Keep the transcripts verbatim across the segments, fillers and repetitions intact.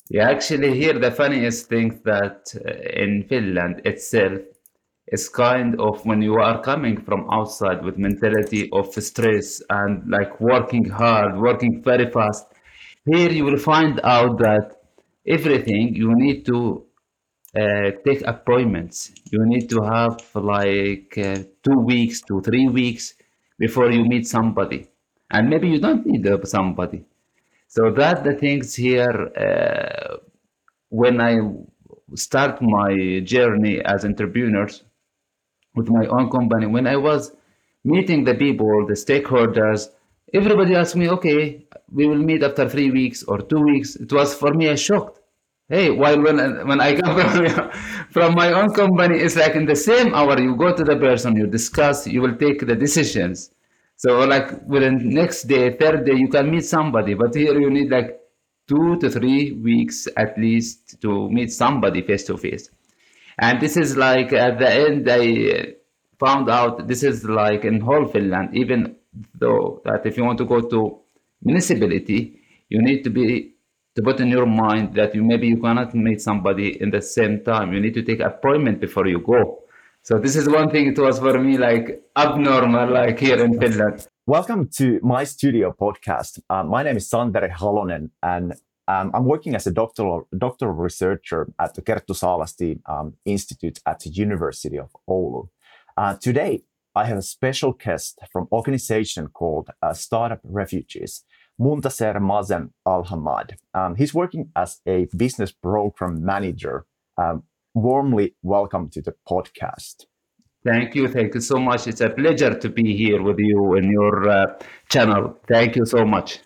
Yeah, actually, here the funniest thing that uh, in Finland itself is kind of when you are coming from outside with mentality of stress and like working hard, working very fast. Here you will find out that everything you need to uh, take appointments. You need to have like uh, two weeks to three weeks before you meet somebody, and maybe you don't need uh, somebody. So that the things here. Uh, when I start my journey as entrepreneurs with my own company, when I was meeting the people, the stakeholders, everybody asked me, okay, we will meet after three weeks or two weeks. It was for me a shock. Hey, while when when I come from, from my own company, it's like in the same hour you go to the person, you discuss, you will take the decisions. So like within next day, third day, you can meet somebody, but here you need like two to three weeks at least to meet somebody face to face. And this is like at the end, I found out this is like in whole Finland, even though that if you want to go to municipality, you need to be to put in your mind that you maybe you cannot meet somebody in the same time. You need to take appointment before you go. So this is one thing it was for me like abnormal, like here in Finland. Welcome to my studio podcast. Uh, my name is Santeri Halonen, and um, I'm working as a doctoral, doctoral researcher at the Kerttu Saalasti um, Institute at the University of Oulu. Uh, today, I have a special guest from an organization called uh, Startup Refugees, Muntaser Mazen Al-Hamad. Um, he's working as a business program manager. Um, warmly welcome to the podcast. Thank you. Thank you so much. It's a pleasure to be here with you in your uh, channel. Thank you so much.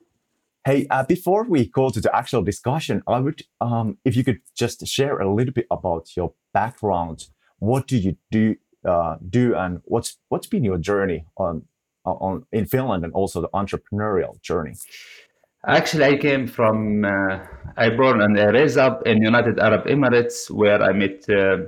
Hey, uh, before we go to the actual discussion, I would, um, if you could just share a little bit about your background. What do you do, uh, do, and what's what's been your journey on on in Finland and also the entrepreneurial journey? Actually, I came from, uh, I born and I raised up in United Arab Emirates, where I met uh,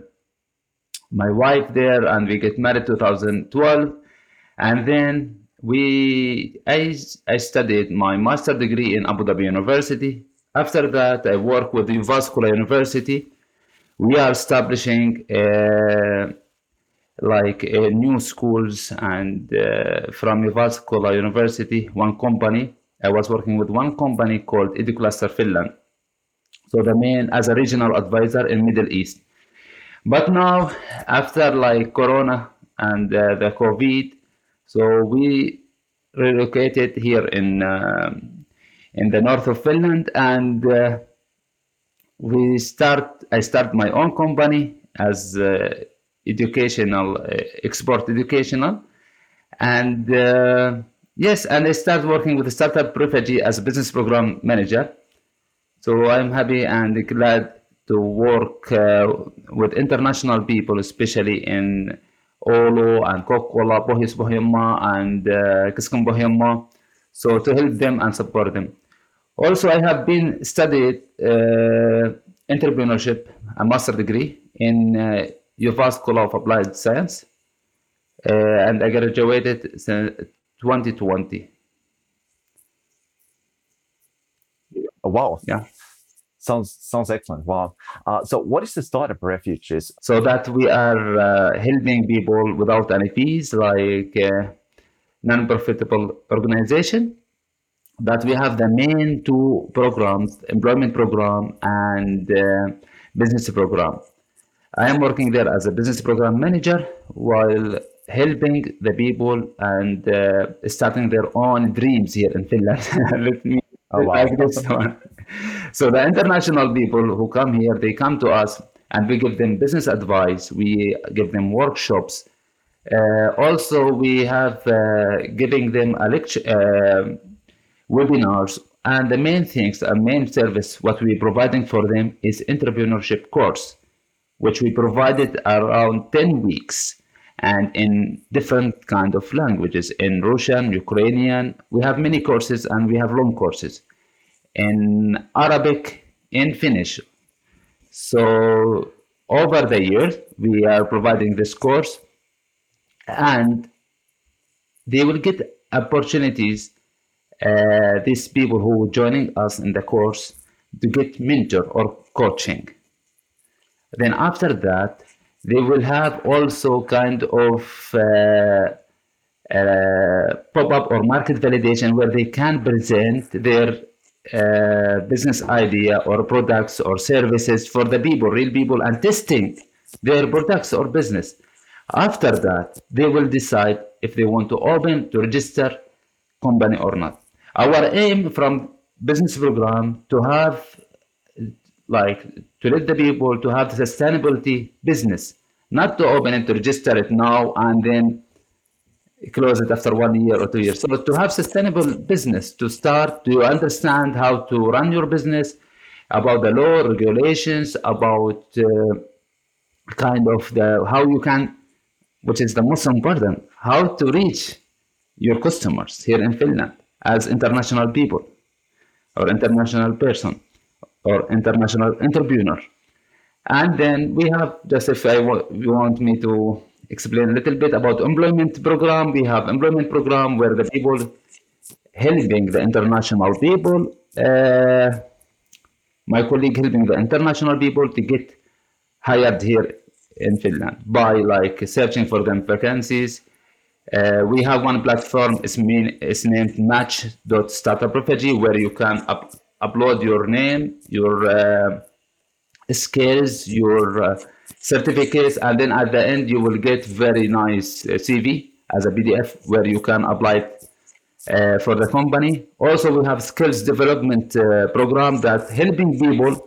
my wife there, and we get married two thousand twelve, and then we, I, I studied my master degree in Abu Dhabi University. After that, I work with Uvascular University. We are establishing uh, like uh, new schools, and uh, from Uvascular University, one company. I was working with one company called EduCluster Finland. So the main as a regional advisor in Middle East. But now, after like Corona and uh, the COVID, so we relocated here in um in the north of Finland, and uh, we start. I start my own company as uh, educational uh, export educational, and uh, yes, and I start working with the startup refugee as a business program manager. So I'm happy and glad to work uh, with international people, especially in Oulu and Kokkola, Pohjois-Pohjanmaa, and uh, Kesk-Pohjanmaa, so to help them and support them. Also, I have been studied uh, entrepreneurship, a master degree in uh, U V A School of Applied Science, uh, and I graduated in twenty twenty. Oh, wow, Yeah. sounds sounds excellent. Wow. Uh, so, what is the Startup Refugees? So that we are uh, helping people without any fees, like uh, non-profitable organization. That we have the main two programs, employment program and uh, business program. I am working there as a business program manager while helping the people and uh, starting their own dreams here in Finland. Let me Oh, wow. like this one. So the international people who come here, they come to us and we give them business advice. We give them workshops. Uh, also, we have uh, giving them a lecture, uh, webinars, and the main things, the main service, what we're providing for them is entrepreneurship course, which we provided around ten weeks and in different kind of languages, in Russian, Ukrainian. We have many courses and we have long courses in Arabic, in Finnish. So over the years, we are providing this course, and they will get opportunities. Uh, these people who are joining us in the course, to get mentor or coaching. Then after that, they will have also kind of uh, uh, pop-up or market validation where they can present their uh, business idea or products or services for the people, real people, and testing their products or business. After that, they will decide if they want to open, to register company or not. Our aim from business program to have like to let the people to have the sustainability business, not to open it, to register it now and then close it after one year or two years. So to have sustainable business, to start to understand how to run your business, about the law, regulations, about uh, kind of the how you can, which is the most important, how to reach your customers here in Finland as international people or international person or international entrepreneur. And then we have, just if I wa- you want me to explain a little bit about employment program, we have employment program where the people helping the international people, uh, my colleague helping the international people to get hired here in Finland by like searching for them vacancies. Uh, we have one platform, it's, mean, it's named match.startuprophagy, where you can up, upload your name, your uh, skills, your uh, certificates, and then at the end you will get very nice uh, C V as a P D F where you can apply it uh, for the company. Also, we have skills development uh, program that helping people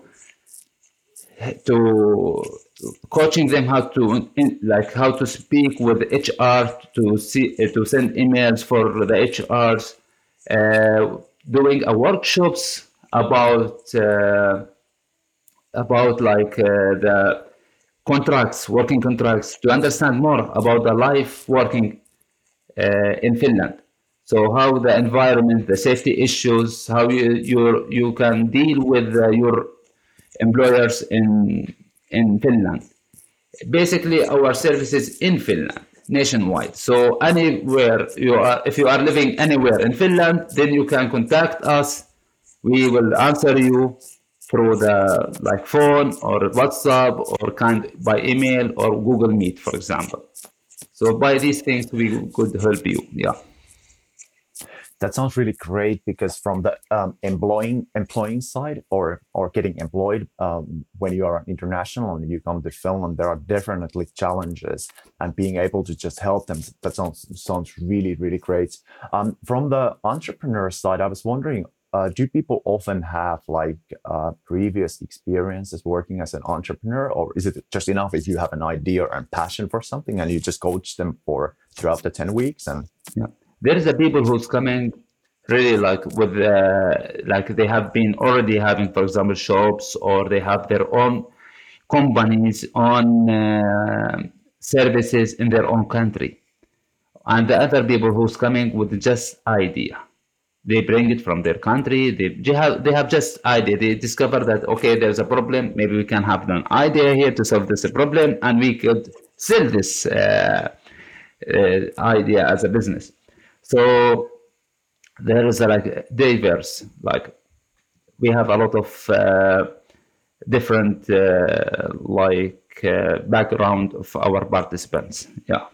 to coaching them how to in, like how to speak with H R, to see uh, to send emails for the H Rs, uh, doing a workshops about uh, about like uh, the contracts, working contracts, to understand more about the life working uh, in Finland. So how the environment, the safety issues, how you you you can deal with uh, your employers in in Finland. Basically, our services in Finland, nationwide. So anywhere you are, if you are living anywhere in Finland, then you can contact us. We will answer you through the like phone or WhatsApp or kind by email or Google Meet, for example. So by these things, we could help you. Yeah. That sounds really great, because from the um, employing employing side, or or getting employed, um, when you are international and you come to Finland, there are definitely challenges, and being able to just help them, that sounds sounds really really great. Um, from the entrepreneur side, I was wondering, uh, do people often have like uh, previous experiences working as an entrepreneur, or is it just enough if you have an idea and passion for something and you just coach them for throughout the ten weeks? And Yeah. There is a people who's coming really like with uh, like they have been already having, for example, shops, or they have their own companies, on uh, services in their own country. And the other people who's coming with just idea. They bring it from their country. They, they have they have just idea. They discover that okay, there's a problem. Maybe we can have an idea here to solve this problem, and we could sell this uh, uh, idea as a business. So there is a, like diverse, like we have a lot of uh, different uh, like uh, background of our participants. Yeah.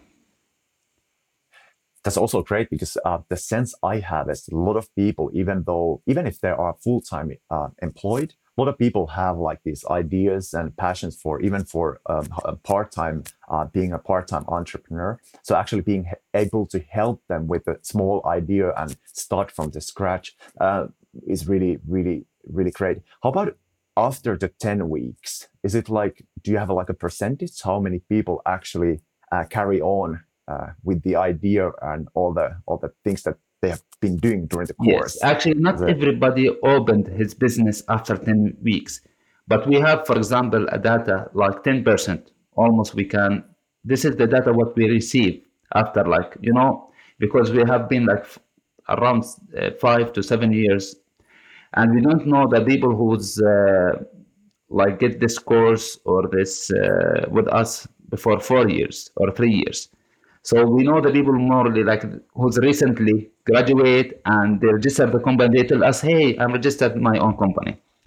that's also great, because uh, the sense I have is a lot of people, even though, even if they are full-time uh, employed, a lot of people have like these ideas and passions for, even for um, a part-time, uh, being a part-time entrepreneur. So actually being h- able to help them with a small idea and start from the scratch uh, is really, really, really great. How about after the ten weeks? Is it like, do you have a, like a percentage? How many people actually uh, carry on uh, with the idea and all the all the things that they have been doing during the course? Yes, actually, not The- everybody opened his business after ten weeks, but we have, for example, a data like ten percent almost we can. This is the data what we receive after, like, you know, because we have been like f- around uh, five to seven years, and we don't know the people who's uh, like get this course or this uh, with us before four years or three years. So we know the people morely like who's recently graduate and they register the company. They tell us, "Hey, I'm registered my own company."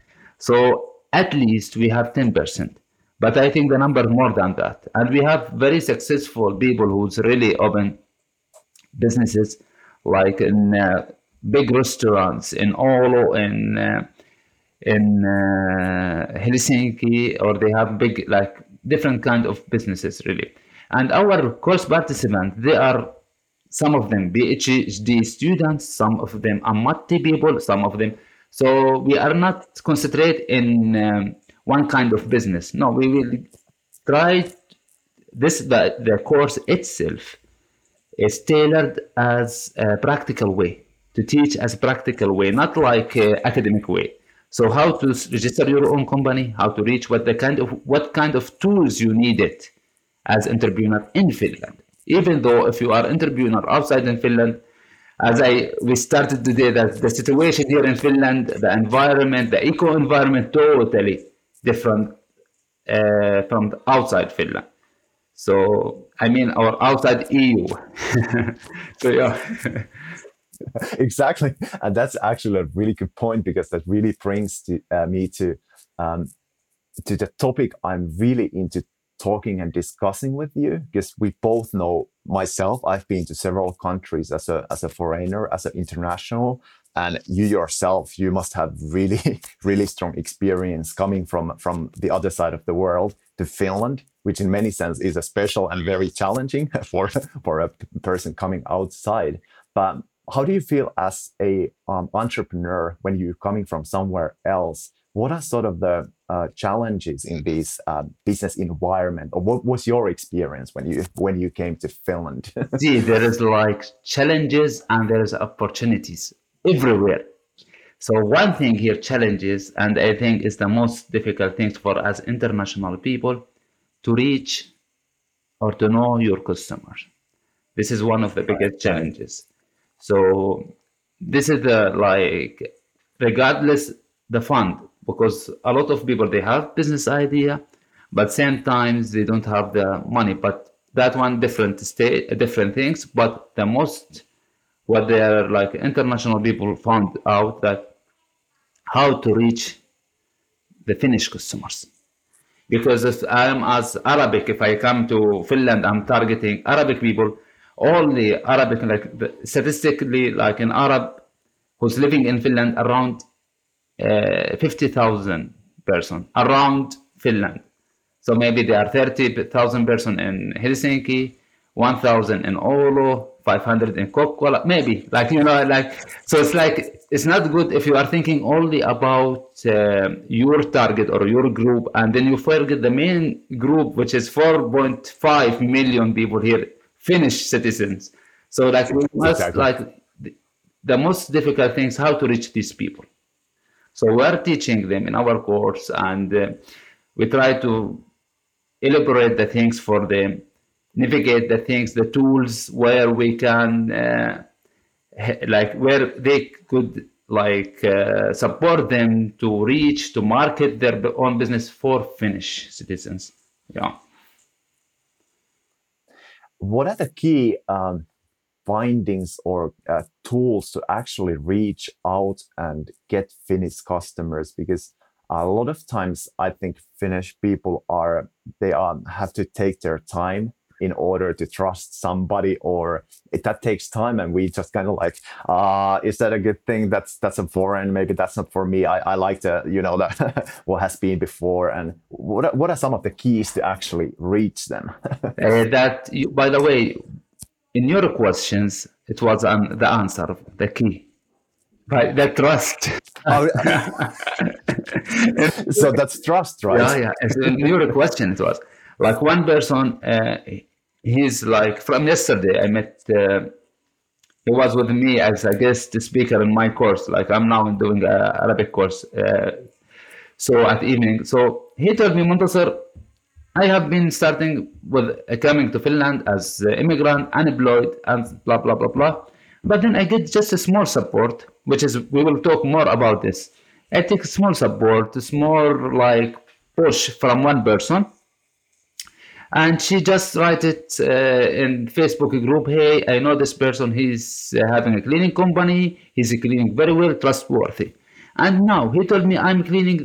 So at least we have ten percent. But I think the number is more than that. And we have very successful people who's really open businesses, like in uh, big restaurants in Oulu, in uh, in uh, Helsinki, or they have big, like different kind of businesses really. And our course participants, they are some of them PhD students, some of them Amati people, some of them. So we are not concentrate in um, one kind of business. No, we will try this. The, the course itself is tailored as a practical way to teach as a practical way, not like uh, academic way. So how to s- register your own company, how to reach what the kind of what kind of tools you needed as entrepreneur in Finland. Even though if you are entrepreneur outside in Finland, as I we started today, that the situation here in Finland, the environment, the eco environment, totally different uh, from the outside Finland. So I mean our outside E U. So yeah. Exactly, and that's actually a really good point, because that really brings to, uh, me to um, to the topic I'm really into talking and discussing with you, because we both know, myself, I've been to several countries as a as a foreigner, as an international, and you yourself, you must have really really strong experience coming from from the other side of the world to Finland, which in many sense is a special and very challenging for for a person coming outside. But how do you feel as a um, entrepreneur when you're coming from somewhere else? What are sort of the uh, challenges in this uh, business environment, or what was your experience when you when you came to Finland? See, there is like challenges and there is opportunities everywhere. So one thing here, challenges, and I think is the most difficult thing for us international people to reach or to know your customers. This is one of the Right, biggest challenges. So this is the like regardless the fund, because a lot of people they have business idea, but same times they don't have the money. But that one different state different things. But the most what they are like international people found out that how to reach the Finnish customers. Because if I'm as Arabic, if I come to Finland, I'm targeting Arabic people, only Arabic, like the, statistically, like an Arab who's living in Finland, around uh, fifty thousand person around Finland. So maybe there are thirty thousand person in Helsinki, one thousand in Oulu, five hundred in Kokkola, maybe like, you know, like, so it's like, it's not good if you are thinking only about uh, your target or your group, and then you forget the main group, which is four point five million people here, Finnish citizens. So like we must exactly. like the, the most difficult thing is how to reach these people. So we are teaching them in our course, and uh, we try to elaborate the things for them, navigate the things, the tools where we can, uh, he- like where they could like uh, support them to reach to market their b- own business for Finnish citizens. Yeah. What are the key um, findings or uh, tools to actually reach out and get Finnish customers? Because a lot of times I think Finnish people are, they are have to take their time in order to trust somebody, or it, that takes time, and we just kind of like, uh is that a good thing? That's that's a foreign, maybe that's not for me. I, I like to, you know, that what has been before. And what are, what are some of the keys to actually reach them? Uh, that, you, by the way, in your questions, it was an, the answer, the key, right? The trust. Oh, so that's trust, Yeah, right? yeah. As in your question, it was like one person. Uh, he's like from yesterday. I met. Uh, he was with me as a guest speaker in my course. Like I'm now doing a Arabic course. Uh, so at evening, so he told me, Muntasir, I have been starting with uh, coming to Finland as uh, immigrant, unemployed, and blah blah blah blah. But then I get just a small support, which is we will talk more about this. I take small support, small like push from one person, and she just write it uh, in Facebook group. Hey, I know this person. He's uh, having a cleaning company. He's cleaning very well, trustworthy. And now he told me I'm cleaning.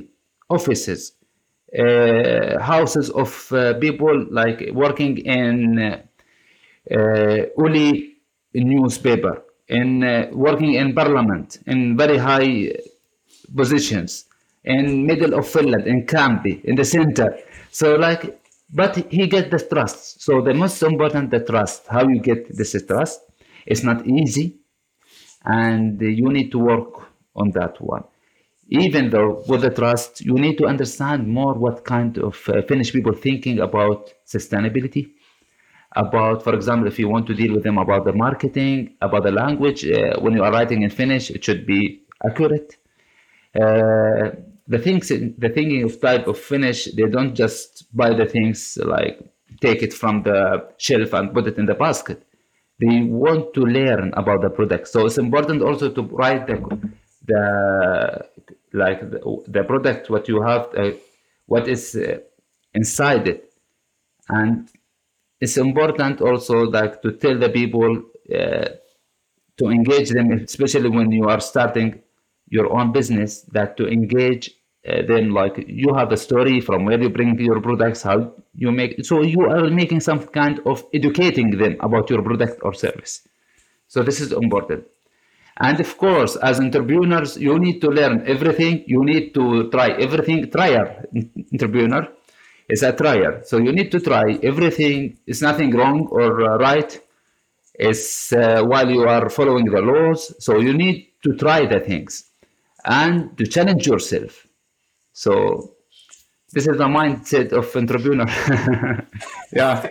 offices, uh, houses of uh, people like working in uh, uh, Uli newspaper, in uh, working in parliament, in very high positions, in middle of Finland, in Campi, in the center. So like, but he get the trust. So the most important, the trust. How you get this trust? It's not easy, and you need to work on that one. Even though with the trust, you need to understand more what kind of uh, Finnish people thinking about sustainability, about, for example, if you want to deal with them about the marketing, about the language, uh, when you are writing in Finnish, it should be accurate. Uh, the things, the thinking of type of Finnish, they don't just buy the things like take it from the shelf and put it in the basket. They want to learn about the product. So it's important also to write the, the like the, the product, what you have, uh, what is uh, inside it, and it's important also like to tell the people uh, to engage them, especially when you are starting your own business, that to engage uh, them like you have a story from where you bring your products, how you make, so you are making some kind of educating them about your product or service. So this is important. And of course, as entrepreneurs, you need to learn everything. You need to try everything. Trier, entrepreneur is a trier. So you need to try everything. It's nothing wrong or uh, right. It's uh, while you are following the laws. So you need to try the things and to challenge yourself. So this is the mindset of entrepreneur. Yeah.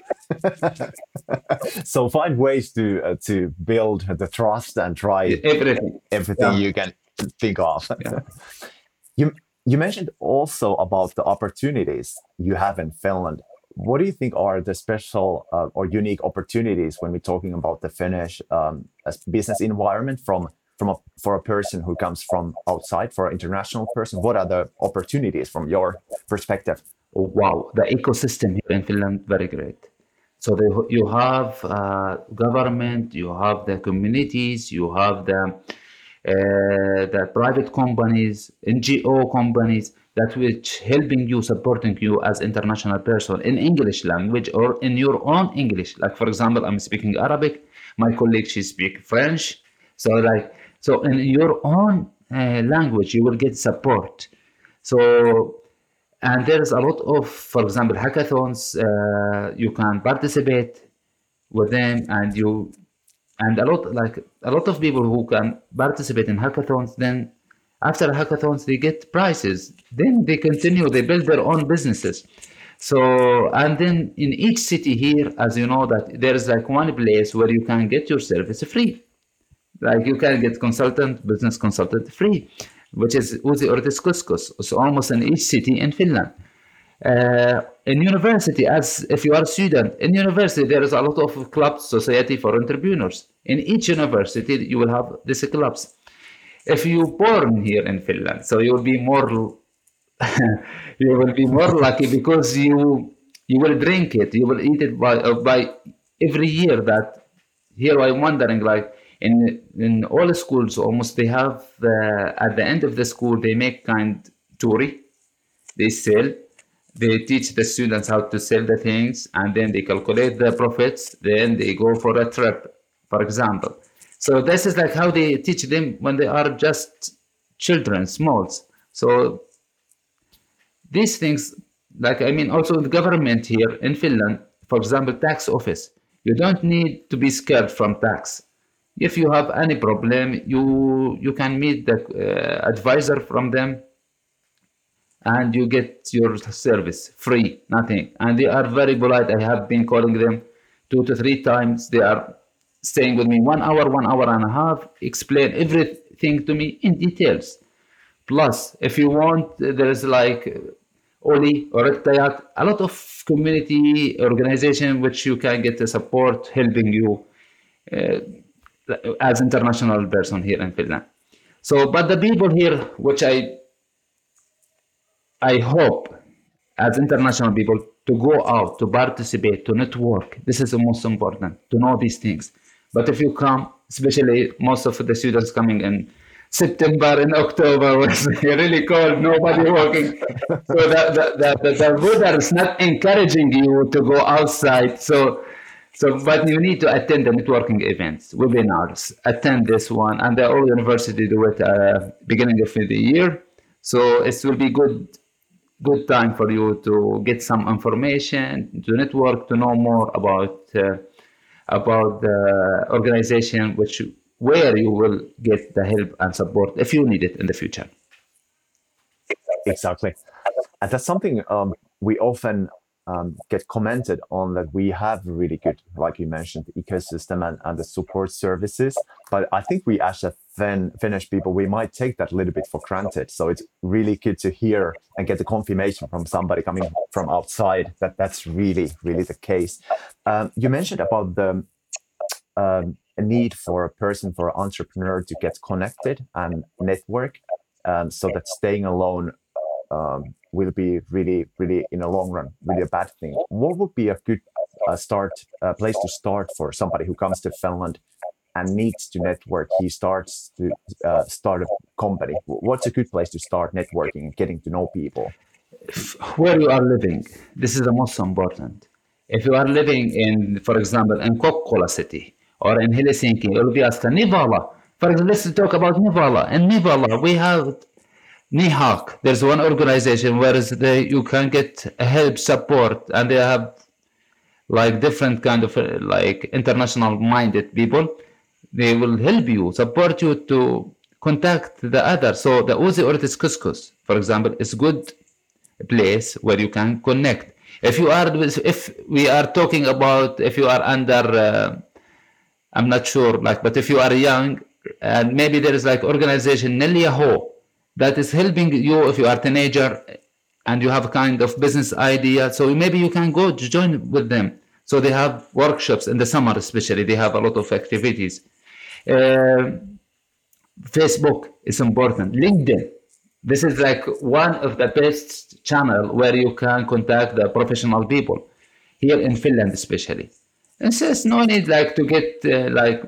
So find ways to uh, to build the trust and try everything, everything yeah. you can think of. Yeah. You you mentioned also about the opportunities you have in Finland. What do you think are the special uh, or unique opportunities when we're talking about the Finnish um, business environment from from a, for a person who comes from outside, for an international person? What are the opportunities from your perspective? Oh, wow, the ecosystem here in Finland, very great. So they, you have uh, government, you have the communities, you have the uh, the private companies, N G O companies, that which helping you, supporting you as international person in English language or in your own English. Like for example, I'm speaking Arabic, my colleague she speak French. So like so in your own uh, language, you will get support. So. And there's a lot of, for example, hackathons. Uh, you can participate with them, and you, and a lot like a lot of people who can participate in hackathons. Then, after hackathons, they get prizes. Then they continue. They build their own businesses. So, and then in each city here, as you know, that there is like one place where you can get your service free. Like you can get consultant, business consultant free, which is Uzi Ortiz Kuskus. It's almost in each city in Finland. Uh, in university, as if you are a student, in university there is a lot of clubs, society for entrepreneurs. In each university, you will have these clubs. If you born here in Finland, so you will be more, you will be more lucky because you you will drink it, you will eat it by uh, by every year. That here I'm wondering like. In in all schools, almost they have uh, at the end of the school they make kind touri. They sell. They teach the students how to sell the things, and then they calculate the profits. Then they go for a trip, for example. So this is like how they teach them when they are just children, smalls. So these things, like I mean, also the government here in Finland, for example, tax office. You don't need to be scared from tax. If you have any problem, you you can meet the uh, advisor from them, and you get your service free, nothing. And they are very polite. I have been calling them two to three times. They are staying with me one hour, one hour and a half, explain everything to me in details. Plus, if you want, there is like Oli or Rektayat, a lot of community organization which you can get the support helping you. Uh, as international person here in Finland. So, but the people here, which I, I hope as international people to go out, to participate, to network. This is the most important, to know these things. But if you come, especially most of the students coming in September and October was really cold, nobody working. So the, the, the, the, the weather is not encouraging you to go outside. So, so but you need to attend the networking events, webinars, attend this one, and the all university do it uh, beginning of the year. So it will be good good time for you to get some information, to network, to know more about uh, about the organization, which where you will get the help and support if you need it in the future. Exactly. And that's something um, we often um, get commented on, that we have really good, like you mentioned, the ecosystem and, and the support services. But I think we, as a fin- Finnish people, we might take that a little bit for granted. So it's really good to hear and get the confirmation from somebody coming from outside that that's really, really the case. Um, you mentioned about the um, a need for a person, for an entrepreneur to get connected and network, um, so that staying alone um, will be really, really, in the long run, really a bad thing. What would be a good uh, start, uh, place to start for somebody who comes to Finland and needs to network? He starts to uh, start a company. What's a good place to start networking and getting to know people? Where you are living, this is the most important. If you are living in, for example, in Kokkola city or in Helsinki or Viasta, Nivala, for example, let's talk about Nivala. In Nivala, we have Nihak. There's one organization where is the, you can get help, support, and they have like different kind of uh, like international minded people. They will help you, support you to contact the other. So the Uzi Ortiz Couscous, for example, is good place where you can connect. If you are, if we are talking about, if you are under, uh, I'm not sure, like, but if you are young, and maybe there is like organization Nelyaho that is helping you if you are a teenager and you have a kind of business idea. So maybe you can go to join with them. So they have workshops in the summer, especially. They have a lot of activities. Uh, Facebook is important. LinkedIn. This is like one of the best channel where you can contact the professional people here in Finland, especially. And so it's no need like to get uh, like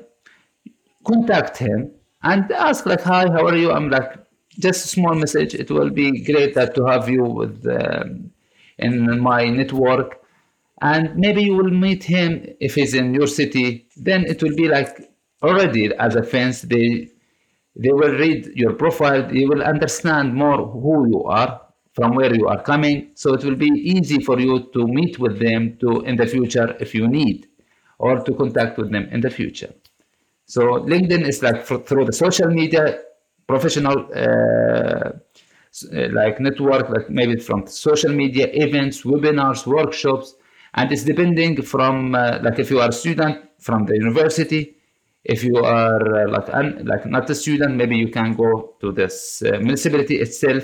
contact him and ask like, hi, how are you? I'm like, just a small message. It will be great that to have you with um, in my network, and maybe you will meet him if he's in your city. Then it will be like already as a fence. They they will read your profile. They will understand more who you are, from where you are coming. So it will be easy for you to meet with them to in the future if you need, or to contact with them in the future. So LinkedIn is like for, through the social media, professional uh, like network, like maybe from social media events, webinars, workshops, and it's depending from uh, like if you are a student from the university. If you are uh, like un, like not a student, maybe you can go to this uh, municipality itself.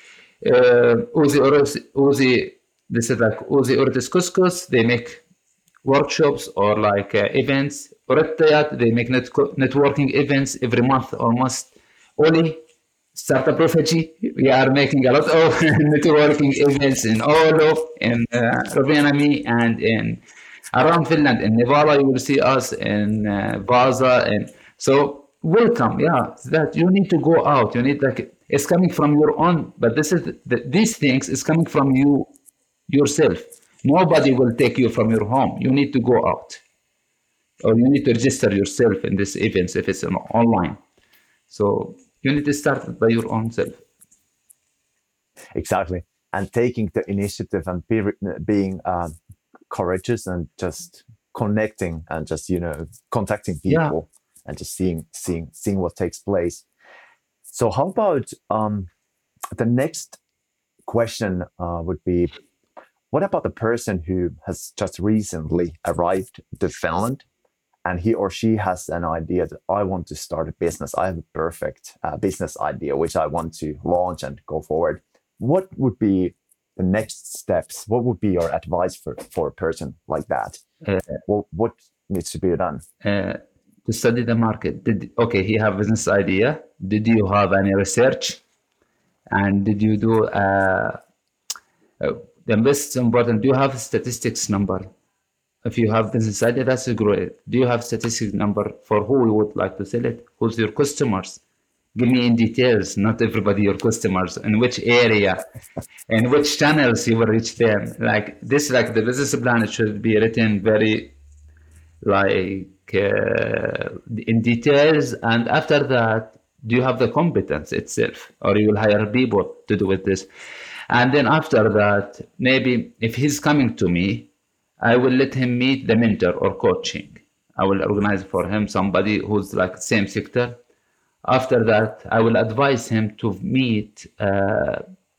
Uh, Uzi Uzi, this is like Uzi Ortiz Couscous. They make workshops or like uh, events. Oretayat, they make net- networking events every month almost. Oli, Startup Refugee, we are making a lot of networking events in Oulu, in uh, Rovaniemi, and in around Finland. In Nivala, you will see us in uh, Vaasa, and so welcome. Yeah, that you need to go out. You need like it's coming from your own, but this is the, these things is coming from you yourself. Nobody will take you from your home. You need to go out, or you need to register yourself in these events if it's online. So you need to start by your own self. Exactly. And taking the initiative and be, being um, courageous and just connecting and just, you know, contacting people yeah. and just seeing, seeing, seeing what takes place. So how about um, the next question uh, would be, what about the person who has just recently arrived to Finland and he or she has an idea that I want to start a business. I have a perfect uh, business idea, which I want to launch and go forward. What would be the next steps? What would be your advice for, for a person like that? Uh, what, what needs to be done? Uh, to study the market. Did, okay, he have business idea. Did you have any research? And did you do uh, uh, the most important? Do you have statistics number? If you have business idea, that's great. Do you have statistics number for who you would like to sell it? Who's your customers? Give me in details, not everybody your customers, in which area, in which channels you will reach them. Like this, like the business plan, it should be written very like uh, in details. And after that, do you have the competence itself, or you will hire people to do with this? And then after that, maybe if he's coming to me, I will let him meet the mentor or coaching. I will organize for him somebody who's like same sector. After that, I will advise him to meet uh,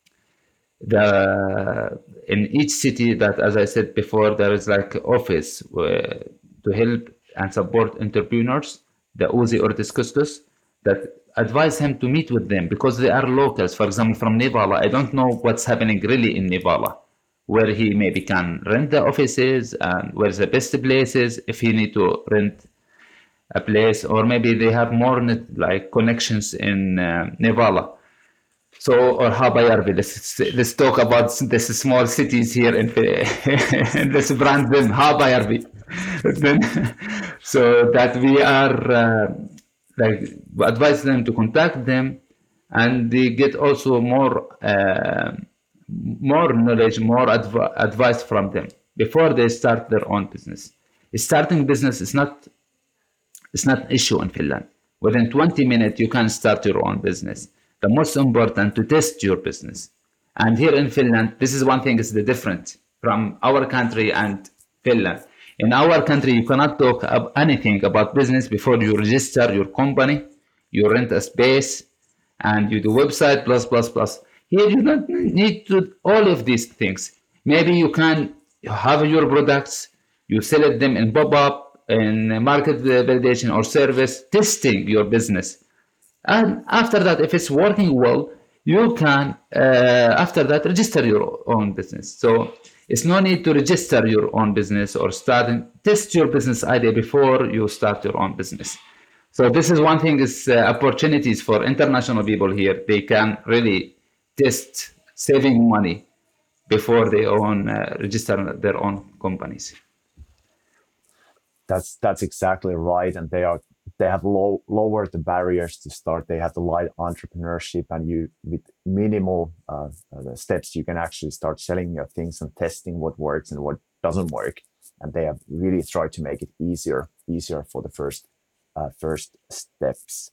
the in each city that, as I said before, there is like office where, to help and support entrepreneurs, the Uzi or Discuscus, that advise him to meet with them because they are locals. For example, from Nevala, I don't know what's happening really in Nevala, where he maybe can rent the offices and where's the best places if he need to rent a place, or maybe they have more net, like connections in uh, Nevala. So, or Habayarvi, let's, let's talk about this small cities here in let's brand them Habayarvi. Then, so that we are uh, like advise them to contact them, and they get also more uh, more knowledge, more adv- advice from them before they start their own business. Starting business is not it's not an issue in Finland. Within twenty minutes, you can start your own business. The most important to test your business. And here in Finland, this is one thing is the difference from our country and Finland. In our country, you cannot talk ab- anything about business before you register your company, you rent a space, and you do website, plus, plus, plus. Here, you don't need to all of these things. Maybe you can have your products, you sell it them in pop-up, in market validation or service, testing your business. And after that, if it's working well, you can, uh, after that, register your own business. So it's no need to register your own business or start and test your business idea before you start your own business. So this is one thing is uh, opportunities for international people here. They can really test saving money before they own uh, register their own companies. That's that's exactly right, and they are they have low, lowered the barriers to start. They have the light entrepreneurship, and you with minimal uh, uh, steps, you can actually start selling your things and testing what works and what doesn't work. And they have really tried to make it easier easier for the first uh, first steps.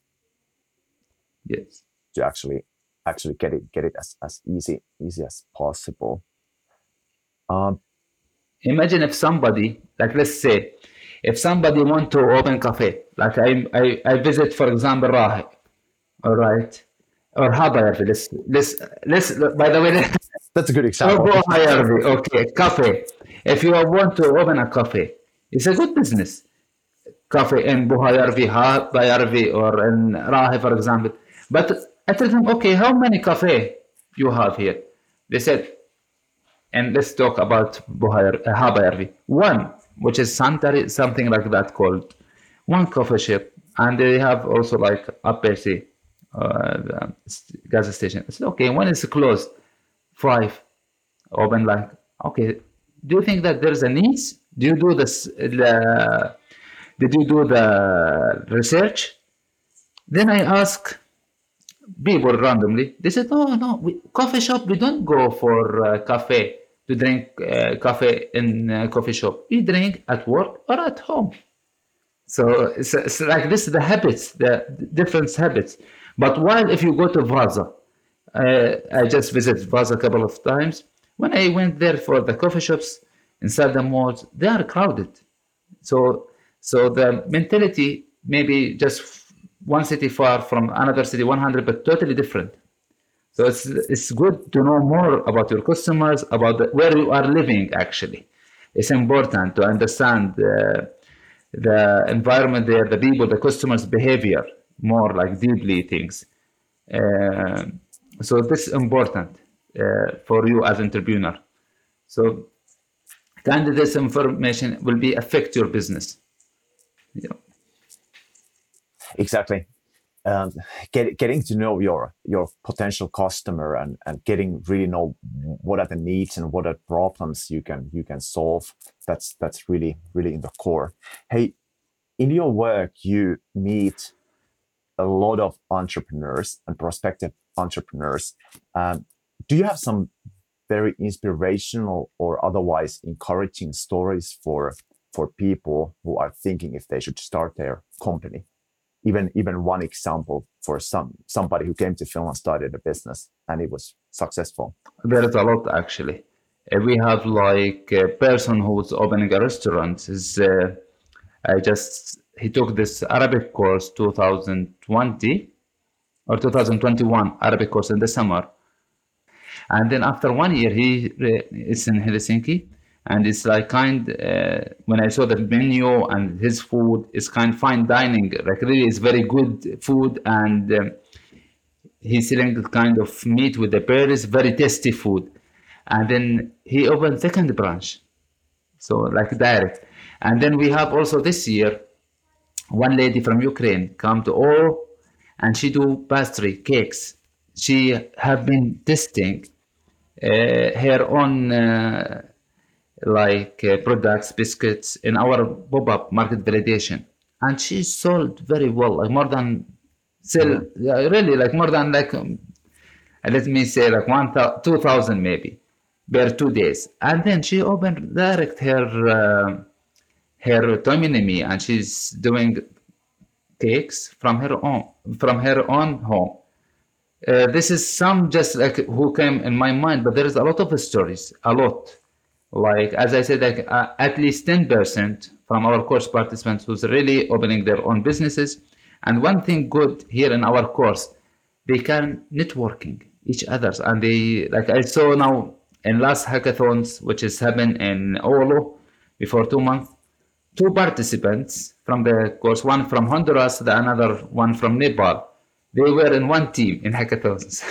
Yes. To actually actually get it get it as, as easy easy as possible. Um, Imagine if somebody, like let's say, if somebody want to open cafe, like I, I, I visit, for example, Rahe, all right, or Habayarvi. Let's, let's, let's. By the way, that's a good example. Or Habayarvi, okay, cafe. If you want to open a cafe, it's a good business. Cafe in Buhayarvi, Habayarvi, or in Rahe, for example. But I told them, okay, how many cafe you have here? They said, and let's talk about Buhayar, uh, Habayarvi. One, which is Santari, something like that called one coffee shop, and they have also like a P C, uh, gas station. I said, okay, when it's closed, five, open like, okay, do you think that there's a needs? Do you do this, the, did you do the research? Then I ask people randomly, they said, oh no, we, coffee shop, we don't go for uh, cafe to drink uh, coffee in a coffee shop. We drink at work or at home. So it's, it's like this, the habits, the different habits. But while if you go to Vaza, uh, I just visited Vaza a couple of times. When I went there for the coffee shops inside the malls, they are crowded. So, so the mentality maybe just one city far from another city, one hundred, but totally different. So it's it's good to know more about your customers, about the, where you are living. Actually, it's important to understand the, the environment there, the people, the customers' behavior more like deeply things. Uh, so this is important uh, for you as entrepreneur. So, kind of this information will be affect your business. Yeah. Exactly. Um, get, getting to know your your potential customer and, and getting really know what are the needs and what are problems you can you can solve. That's that's really really in the core. Hey, in your work you meet a lot of entrepreneurs and prospective entrepreneurs. Um, do you have some very inspirational or otherwise encouraging stories for for people who are thinking if they should start their company? Even even one example for some somebody who came to Finland, started a business, and it was successful. There is a lot actually. Uh, we have like a person who's opening a restaurant. Is uh, I just he took this Arabic course two thousand twenty or two thousand twenty-one Arabic course in the summer, and then after one year he uh, is in Helsinki, and it's like kind uh, when I saw the menu and his food is kind of fine dining, like really it's very good food, and um, he's selling kind of meat with the berries, very tasty food. And then he opened second branch, so like direct. And then we have also this year one lady from Ukraine come to all, and she do pastry cakes. She have been testing uh, her own uh, like uh, products, biscuits in our pop-up market validation, and she sold very well, like more than sell yeah, really like more than like um, let me say like one two thousand maybe per two days. And then she opened direct her uh, her autonomy, and she's doing cakes from her own from her own home. Uh, this is some just like who came in my mind, but there is a lot of stories, a lot. Like as I said, like uh, at least ten percent from our course participants who's really opening their own businesses. And one thing good here in our course, they can networking each others, and they like I saw now in last hackathons, which is happened in Oulu before two months, two participants from the course, one from Honduras, the another one from Nepal. They were in one team in hackathons.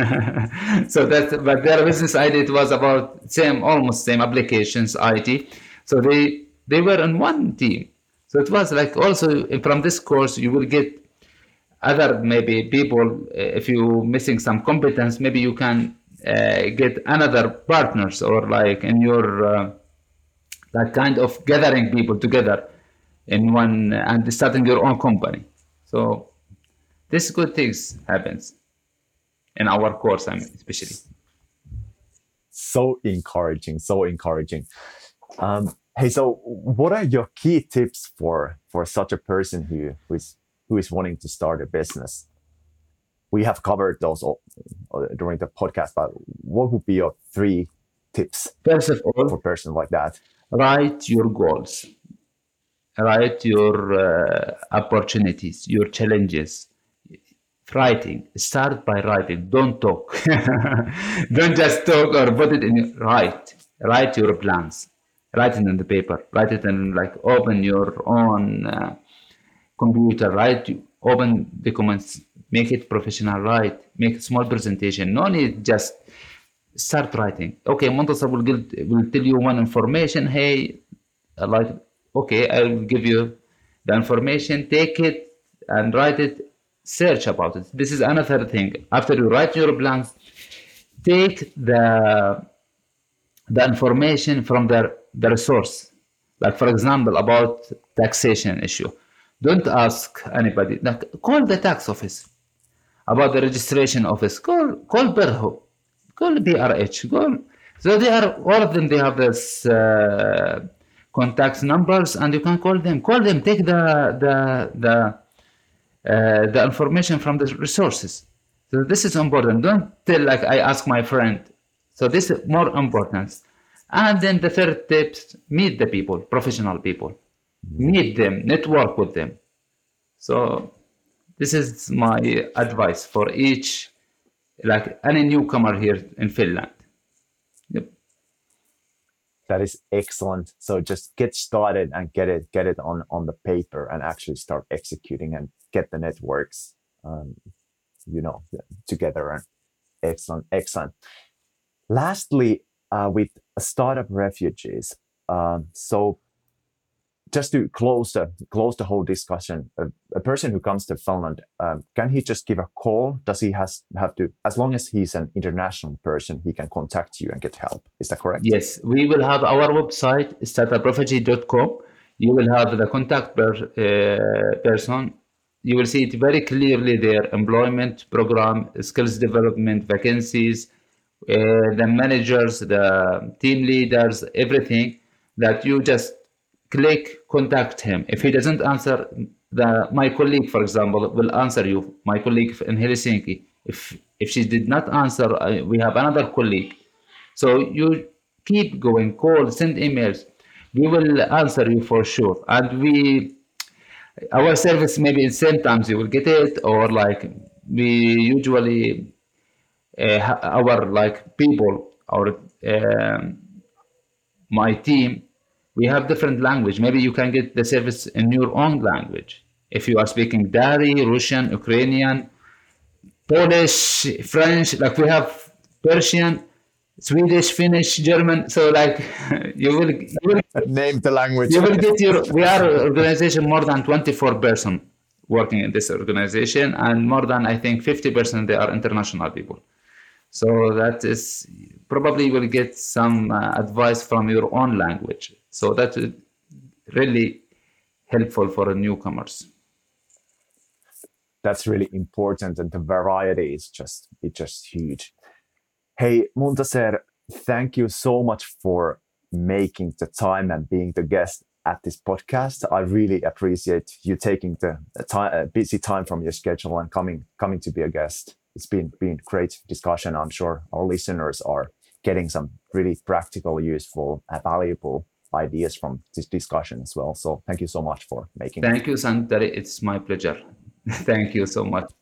So that, but their business idea it was about same, almost same applications, I T. So they they were in one team. So it was like also from this course you will get other maybe people. If you missing some competence, maybe you can uh, get another partners, or like in your uh, like kind of gathering people together in one and starting your own company. So this good things happens in our course, I mean, especially. So encouraging, so encouraging. Um, hey, so what are your key tips for for such a person who who is who is wanting to start a business? We have covered those all, uh, during the podcast, but what would be your three tips? First of all, for a person like that, write your goals, write your uh, opportunities, your challenges. Writing, start by writing, don't talk. Don't just talk or put it in your, write write your plans, write it in the paper, write it in like open your own uh, computer, write, open documents, make it professional, write, make a small presentation, no need just start writing. Okay, Montasar will give, will tell you one information, hey, like okay, I will give you the information, take it and write it, search about it. This is another thing. After you write your plans, take the the information from the, the resource. Like for example, about taxation issue. Don't ask anybody. Like call the tax office. About the registration office. Call call Berho. Call B R H. Call. So they are all of them. They have this uh, contact numbers, and you can call them. Call them. Take the the the. Uh, the information from the resources. So this is important. Don't tell like I ask my friend. So this is more important. And then the third tip, meet the people, professional people. Meet them, network with them. So this is my advice for each, like any newcomer here in Finland. Yep. That is excellent. So just get started and get it get it on, on the paper and actually start executing and get the networks, um, you know, together. And excellent, excellent. Lastly, uh, with startup refugees. Um, so just to close the close the whole discussion, a, a person who comes to Finland, um, can he just give a call? Does he has have to, as long as he's an international person, he can contact you and get help? Is that correct? Yes, we will have our website, startup refugee dot com. You will have the contact per, uh, person. you will see it very clearly there: employment program, skills development, vacancies, uh, the managers, the team leaders, everything. That you just click, contact him. If he doesn't answer, the my colleague, for example, will answer you. My colleague in Helsinki. If if she did not answer, uh, we have another colleague. So you keep going, call, send emails. We will answer you for sure. And we, our service maybe in same times you will get it, or like we usually uh, our like people, our um, my team, we have different language. Maybe you can get the service in your own language. If you are speaking Dari, Russian, Ukrainian, Polish, French, like we have Persian, Swedish, Finnish, German. So like you will, you will, Name the language. you will get your. We are an organization more than twenty-four person working in this organization, and more than I think fifty percent they are international people. So that is probably you will get some uh, advice from your own language. So that is really helpful for newcomers. That's really important, and the variety is just it's just huge. Hey, Muntaser, thank you so much for making the time and being the guest at this podcast. I really appreciate you taking the time, uh, busy time from your schedule and coming coming to be a guest. It's been been great discussion. I'm sure our listeners are getting some really practical, useful, and valuable ideas from this discussion as well. So thank you so much for making. Thank you, Santari. It's my pleasure. Thank you so much.